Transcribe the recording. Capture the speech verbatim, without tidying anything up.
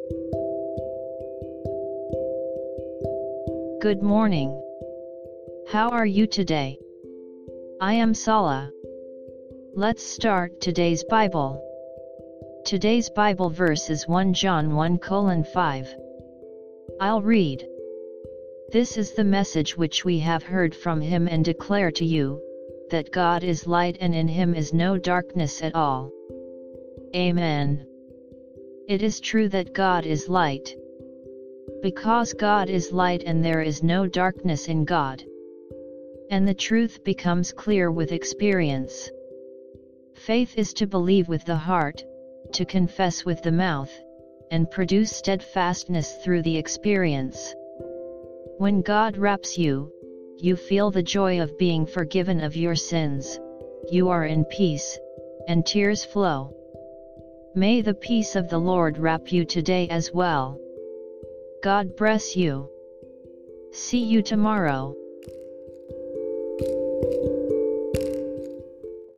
Good morning. How are you today? I am Sala. Let's start today's Bible. Today's Bible verse is First John one colon five. I'll read. This is the message which we have heard from him and declare to you, that God is light and in him is no darkness at all. Amen. It is true that God is light. Because God is light and there is no darkness in God. And the truth becomes clear with experience. Faith is to believe with the heart, to confess with the mouth, and produce steadfastness through the experience. When God wraps you, you feel the joy of being forgiven of your sins, you are in peace, and tears flow. May the peace of the Lord wrap you today as well. God bless you. See you tomorrow.